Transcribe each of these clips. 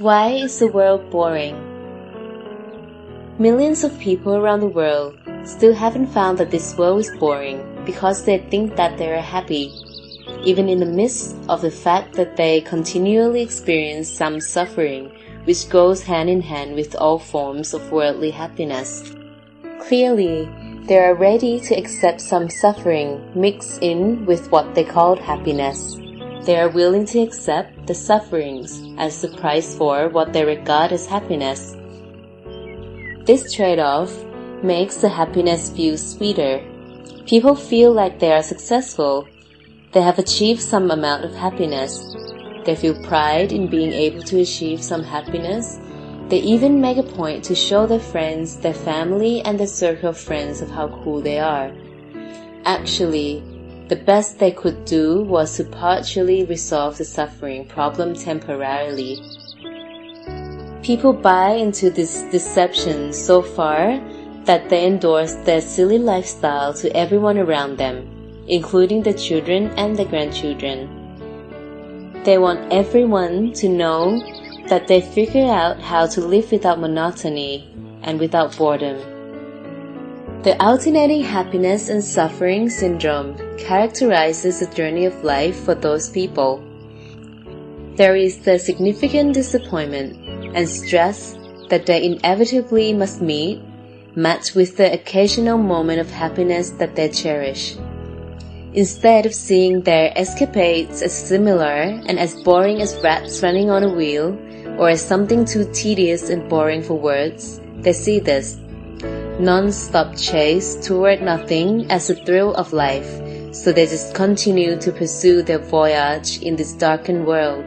Why is the world boring? Millions of people around the world still haven't found that this world is boring because they think that they are happy, even in the midst of the fact that they continually experience some suffering, which goes hand in hand with all forms of worldly happiness. Clearly, they are ready to accept some suffering mixed in with what they call happiness. They are willing to accept the sufferings as the price for what they regard as happiness. This trade-off makes the happiness feel sweeter. People feel like they are successful. They have achieved some amount of happiness. They feel pride in being able to achieve some happiness. They even make a point to show their friends, their family, and their circle of friends of how cool they are. Actually, the best they could do was to partially resolve the suffering problem temporarily. People buy into this deception so far that they endorse their silly lifestyle to everyone around them, including their children and their grandchildren. They want everyone to know that they figure out how to live without monotony and without boredom. The alternating happiness and suffering syndrome characterizes the journey of life for those people. There is the significant disappointment and stress that they inevitably must meet, matched with the occasional moment of happiness that they cherish. Instead of seeing their escapades as similar and as boring as rats running on a wheel, or as something too tedious and boring for words, they see this non-stop chase toward nothing as the thrill of life, so they just continue to pursue their voyage in this darkened world.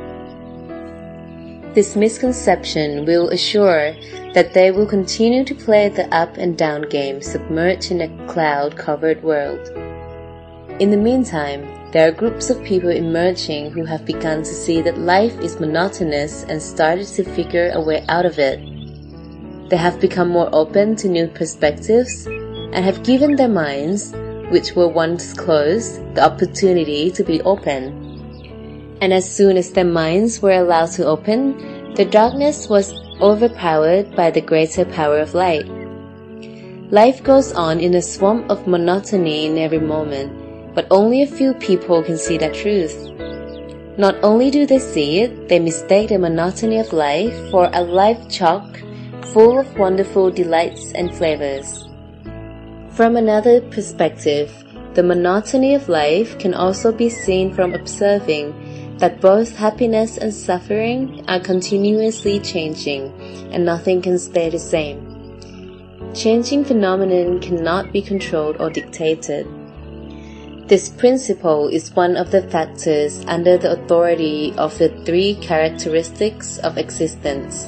This misconception will assure that they will continue to play the up and down game submerged in a cloud-covered world. In the meantime, there are groups of people emerging who have begun to see that life is monotonous and started to figure a way out of it. They have become more open to new perspectives and have given their minds, which were once closed, the opportunity to be open. And as soon as their minds were allowed to open, the darkness was overpowered by the greater power of light. Life goes on in a swamp of monotony in every moment, but only a few people can see that truth. Not only do they see it, they mistake the monotony of life for a life chock full of wonderful delights and flavors. From another perspective, the monotony of life can also be seen from observing that both happiness and suffering are continuously changing, and nothing can stay the same. Changing phenomenon cannot be controlled or dictated. This principle is one of the factors under the authority of the three characteristics of existence.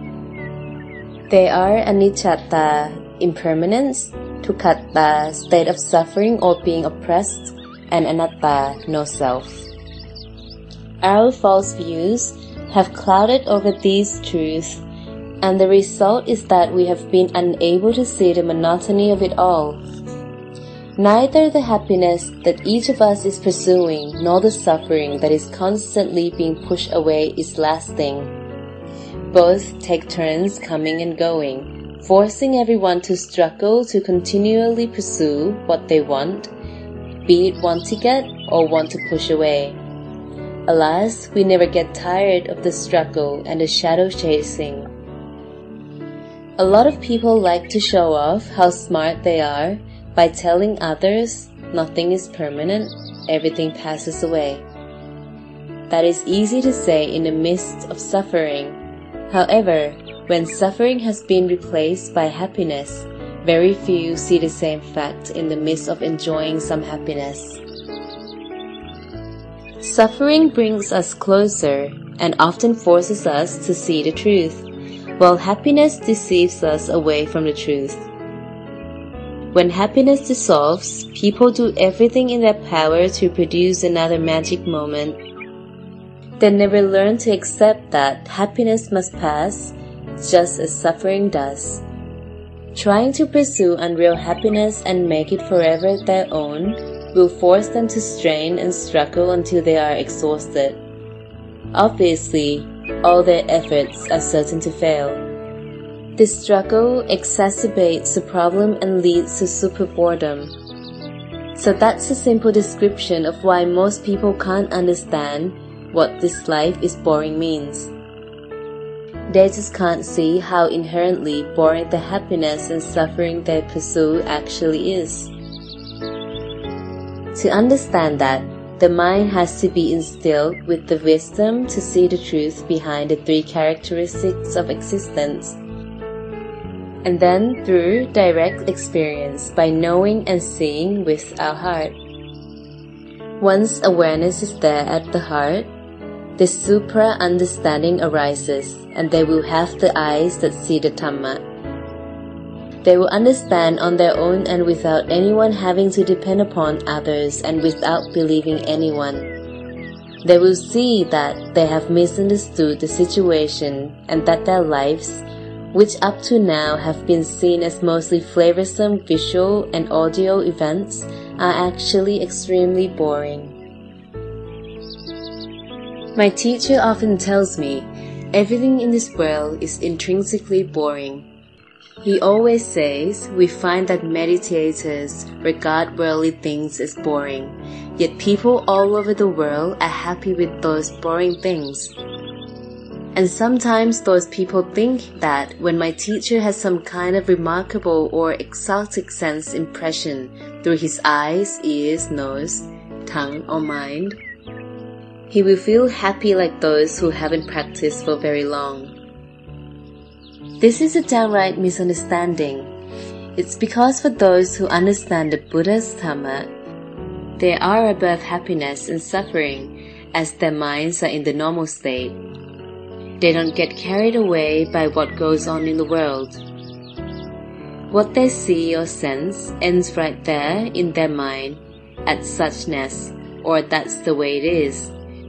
They are aniccatta, impermanence, dukkhatta, state of suffering or being oppressed, and anatta, no self. Our false views have clouded over these truths, and the result is that we have been unable to see the monotony of it all. Neither the happiness that each of us is pursuing nor the suffering that is constantly being pushed away is lasting. Both take turns coming and going, forcing everyone to struggle to continually pursue what they want, be it want to get or want to push away. Alas, we never get tired of the struggle and the shadow chasing. A lot of people like to show off how smart they are by telling others nothing is permanent, everything passes away. That is easy to say in the midst of suffering. However, when suffering has been replaced by happiness, very few see the same fact in the midst of enjoying some happiness. Suffering brings us closer and often forces us to see the truth, while happiness deceives us away from the truth. When happiness dissolves, people do everything in their power to produce another magic moment. They never learn to accept that happiness must pass, just as suffering does. Trying to pursue unreal happiness and make it forever their own will force them to strain and struggle until they are exhausted. Obviously, all their efforts are certain to fail. This struggle exacerbates the problem and leads to super boredom. So that's a simple description of why most people can't understand what this life is boring means. They just can't see how inherently boring the happiness and suffering they pursue actually is. To understand that, the mind has to be instilled with the wisdom to see the truth behind the three characteristics of existence. And then through direct experience by knowing and seeing with our heart. Once awareness is there at the heart, the supra-understanding arises, and they will have the eyes that see the Dhamma. They will understand on their own and without anyone having to depend upon others and without believing anyone. They will see that they have misunderstood the situation and that their lives, which up to now have been seen as mostly flavorsome visual and audio events, are actually extremely boring. My teacher often tells me, everything in this world is intrinsically boring. He always says we find that meditators regard worldly things as boring, yet people all over the world are happy with those boring things. And sometimes those people think that when my teacher has some kind of remarkable or exotic sense impression through his eyes, ears, nose, tongue, or mind, he will feel happy like those who haven't practiced for very long. This is a downright misunderstanding. It's because for those who understand the Buddha's Dhamma, they are above happiness and suffering as their minds are in the normal state. They don't get carried away by what goes on in the world. What they see or sense ends right there in their mind at suchness, or that's the way it is.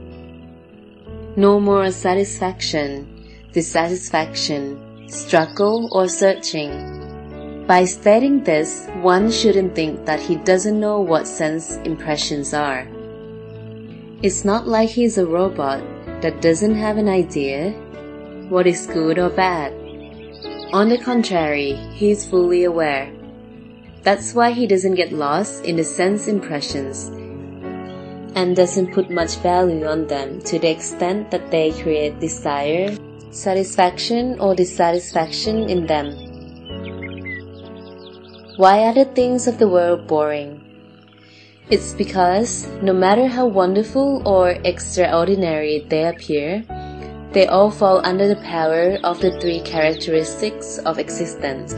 No more satisfaction, dissatisfaction, struggle or searching. By stating this, one shouldn't think that he doesn't know what sense impressions are. It's not like he's a robot that doesn't have an idea what is good or bad. On the contrary, he is fully aware. That's why he doesn't get lost in the sense impressions and doesn't put much value on them to the extent that they create desire, satisfaction or dissatisfaction in them. Why are the things of the world boring? It's because no matter how wonderful or extraordinary they appear, they all fall under the power of the three characteristics of existence.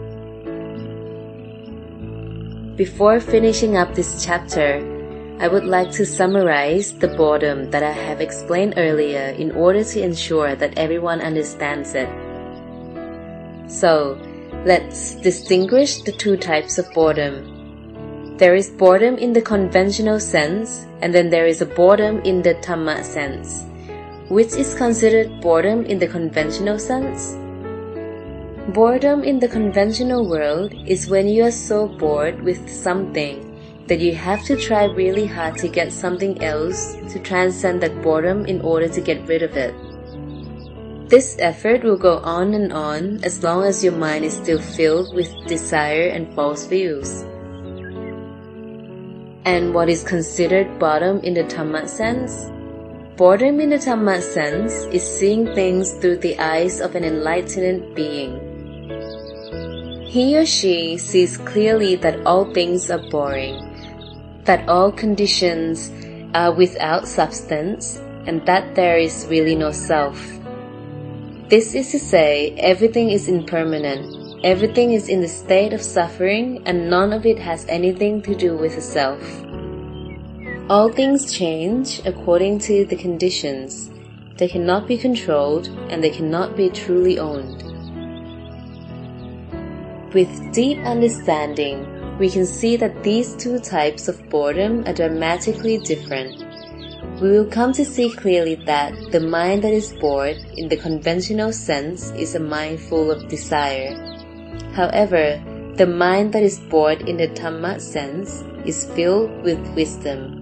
Before finishing up this chapter, I would like to summarize the boredom that I have explained earlier in order to ensure that everyone understands it. So, let's distinguish the two types of boredom. There is boredom in the conventional sense, and then there is a boredom in the Dhamma sense. Which is considered boredom in the conventional sense? Boredom in the conventional world is when you are so bored with something that you have to try really hard to get something else to transcend that boredom in order to get rid of it. This effort will go on and on as long as your mind is still filled with desire and false views. And what is considered boredom in the Dhamma sense? Boredom in the Dhamma sense is seeing things through the eyes of an enlightened being. He or she sees clearly that all things are boring, that all conditions are without substance, and that there is really no self. This is to say, everything is impermanent, everything is in the state of suffering, and none of it has anything to do with the self. All things change according to the conditions. They cannot be controlled, and they cannot be truly owned. With deep understanding, we can see that these two types of boredom are dramatically different. We will come to see clearly that the mind that is bored in the conventional sense is a mind full of desire. However, the mind that is bored in the Dhamma sense is filled with wisdom.